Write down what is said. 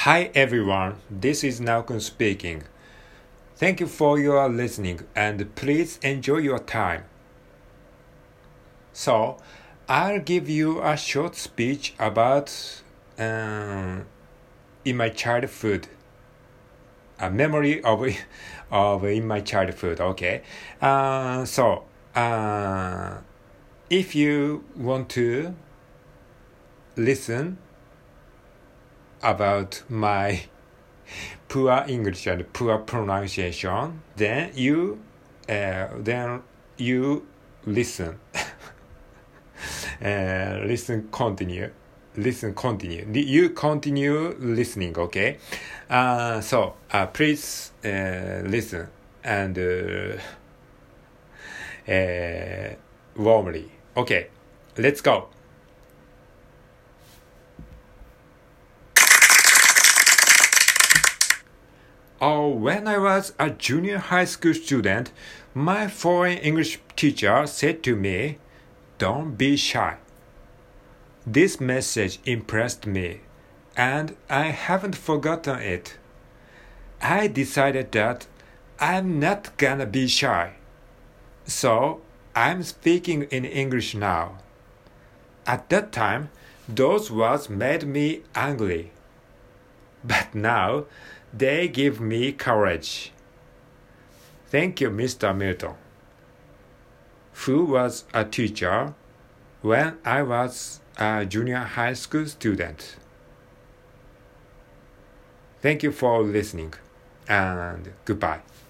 Hi everyone, this is Naokun speaking. Thank you for your listening and please enjoy your time. So, I'll give you a short speech about in my childhood. A memory of in my childhood, okay? If you want to listen about my poor English and poor pronunciation, then you listen. Continue. You continue listening, okay? Please listen and warmly. Okay, let's go. When I was a junior high school student, my foreign English teacher said to me, "Don't be shy." This message impressed me, and I haven't forgotten it. I decided that I'm not gonna be shy. So I'm speaking in English now. At that time, those words made me angry. But now, they give me courage. Thank you, Mr. Milton, who was a teacher when I was a junior high school student. Thank you for listening, and goodbye.